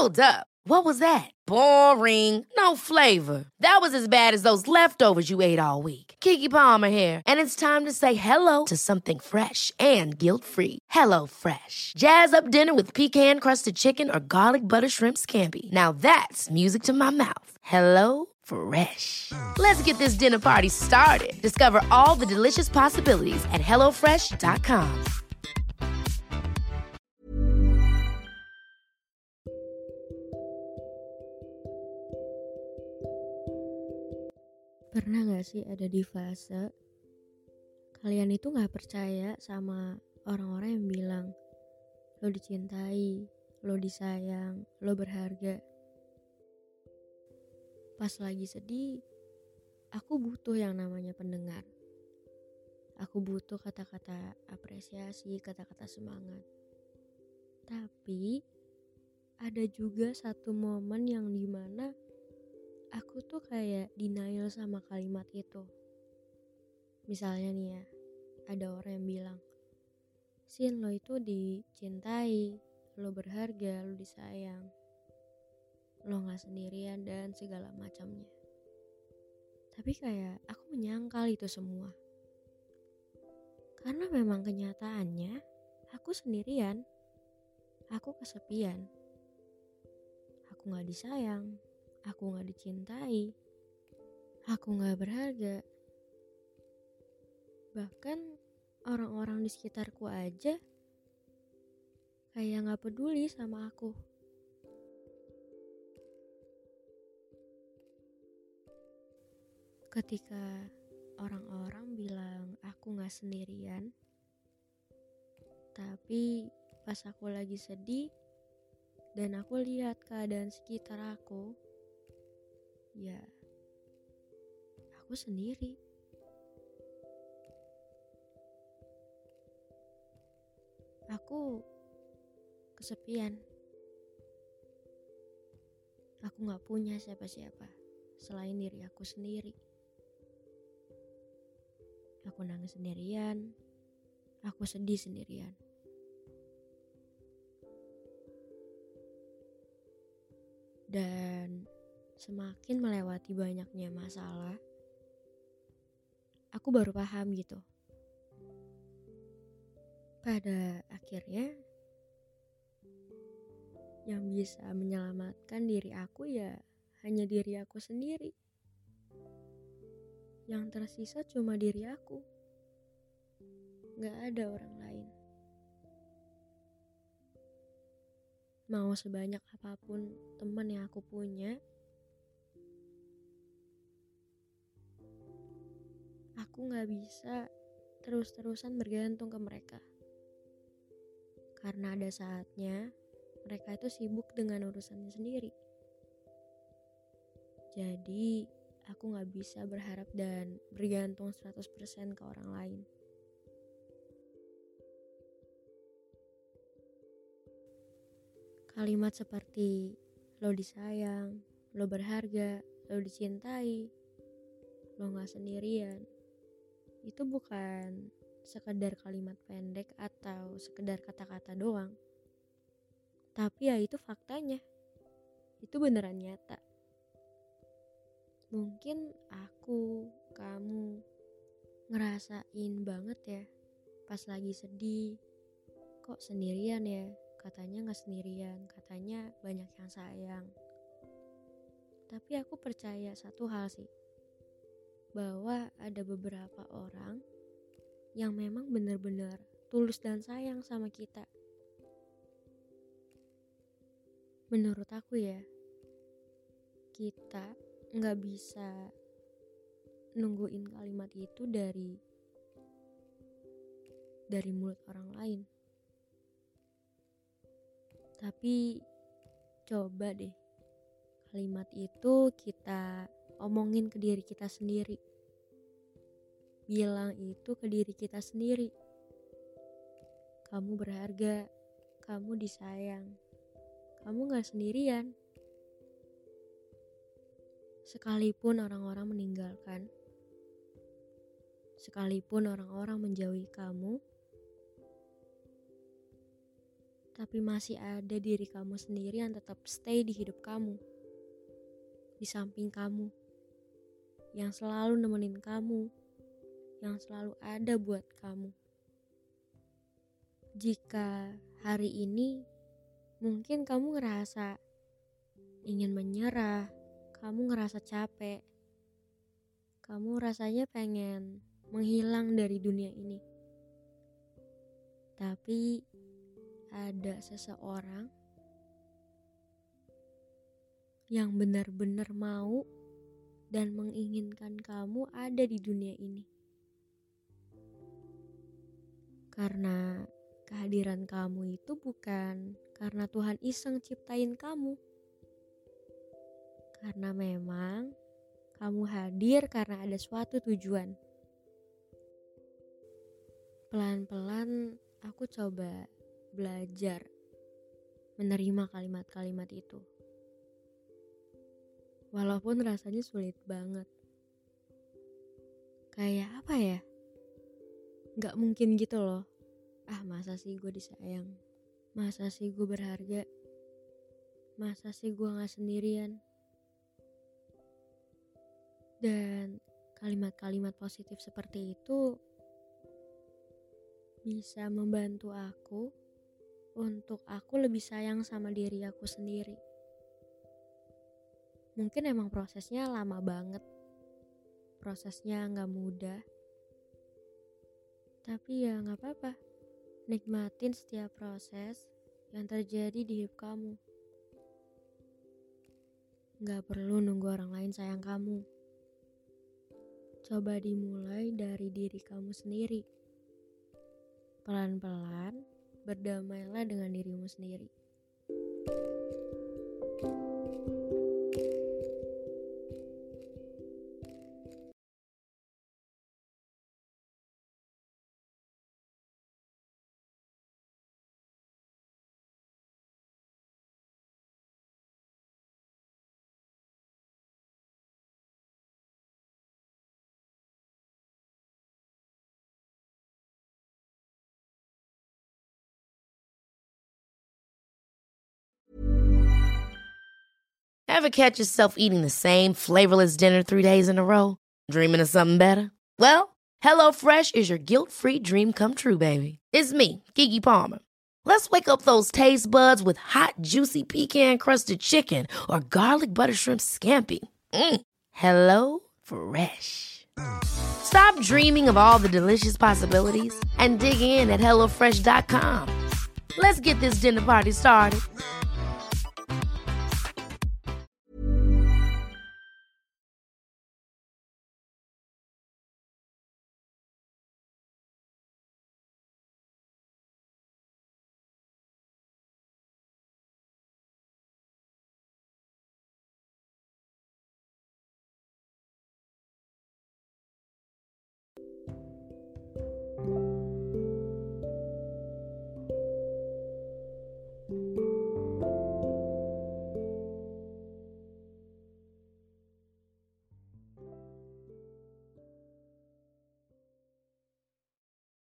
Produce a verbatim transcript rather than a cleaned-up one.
Hold up. What was that? Boring. No flavor. That was as bad as those leftovers you ate all week. Keke Palmer here, and it's time to say hello to something fresh and guilt-free. Hello Fresh. Jazz up dinner with pecan-crusted chicken or garlic butter shrimp scampi. Now that's music to my mouth. Hello Fresh. Let's get this dinner party started. Discover all the delicious possibilities at hello fresh dot com. Pernah gak sih ada di fase kalian itu gak percaya sama orang-orang yang bilang lo dicintai, lo disayang, lo berharga. Pas lagi sedih, aku butuh yang namanya pendengar. Aku butuh kata-kata apresiasi, kata-kata semangat. Tapi ada juga satu momen yang dimana aku tuh kayak denial sama kalimat itu. Misalnya nih ya, ada orang yang bilang, Sin, lo itu dicintai, lo berharga, lo disayang, lo gak sendirian dan segala macamnya. Tapi kayak aku menyangkal itu semua. Karena memang kenyataannya aku sendirian, aku kesepian, aku gak disayang, aku gak dicintai, aku gak berharga. Bahkan orang-orang di sekitarku aja kayak gak peduli sama aku. Ketika orang-orang bilang aku gak sendirian, tapi pas aku lagi sedih dan aku lihat keadaan sekitar aku, ya, aku sendiri. Aku kesepian. Aku gak punya siapa-siapa selain diri aku sendiri. Aku nangis sendirian. Aku sedih sendirian. Dan semakin melewati banyaknya masalah, aku baru paham gitu. Pada akhirnya, yang bisa menyelamatkan diri aku ya hanya diri aku sendiri. Yang tersisa cuma diri aku. Gak ada orang lain. Mau sebanyak apapun teman yang aku punya, aku gak bisa terus-terusan bergantung ke mereka. Karena ada saatnya mereka itu sibuk dengan urusannya sendiri. Jadi aku gak bisa berharap dan bergantung seratus persen ke orang lain. Kalimat seperti lo disayang, lo berharga, lo dicintai, lo gak sendirian, itu bukan sekedar kalimat pendek atau sekedar kata-kata doang. Tapi ya itu faktanya. Itu beneran nyata. Mungkin aku, kamu ngerasain banget ya pas lagi sedih. Kok sendirian ya? Katanya gak sendirian, katanya banyak yang sayang. Tapi aku percaya satu hal sih, bahwa ada beberapa orang yang memang benar-benar tulus dan sayang sama kita. Menurut aku ya, kita gak bisa nungguin kalimat itu dari dari mulut orang lain. Tapi coba deh kalimat itu kita omongin ke diri kita sendiri. Bilang itu ke diri kita sendiri. Kamu berharga, kamu disayang, kamu gak sendirian. Sekalipun orang-orang meninggalkan, sekalipun orang-orang menjauhi kamu, tapi masih ada diri kamu sendiri yang tetap stay di hidup kamu, di samping kamu, yang selalu nemenin kamu, yang selalu ada buat kamu. Jika hari ini mungkin kamu ngerasa ingin menyerah, kamu ngerasa capek, kamu rasanya pengen menghilang dari dunia ini. Tapi ada seseorang yang benar-benar mau dan menginginkan kamu ada di dunia ini. Karena kehadiran kamu itu bukan karena Tuhan iseng ciptain kamu. Karena memang kamu hadir karena ada suatu tujuan. Pelan-pelan aku coba belajar menerima kalimat-kalimat itu. Walaupun rasanya sulit banget. Kayak apa ya? Gak mungkin gitu loh. Ah, masa sih gue disayang? Masa sih gue berharga? Masa sih gue gak sendirian? Dan kalimat-kalimat positif seperti itu bisa membantu aku untuk aku lebih sayang sama diri aku sendiri. Mungkin emang prosesnya lama banget, prosesnya gak mudah, tapi ya gak apa-apa. Nikmatin setiap proses yang terjadi di hidup kamu. Gak perlu nunggu orang lain sayang kamu. Coba dimulai dari diri kamu sendiri. Pelan-pelan berdamailah dengan dirimu sendiri. Ever catch yourself eating the same flavorless dinner three days in a row? Dreaming of something better? Well, HelloFresh is your guilt-free dream come true, baby. It's me, Keke Palmer. Let's wake up those taste buds with hot, juicy pecan-crusted chicken or garlic butter shrimp scampi. Mm. Hello Fresh. Stop dreaming of all the delicious possibilities and dig in at hello fresh dot com. Let's get this dinner party started.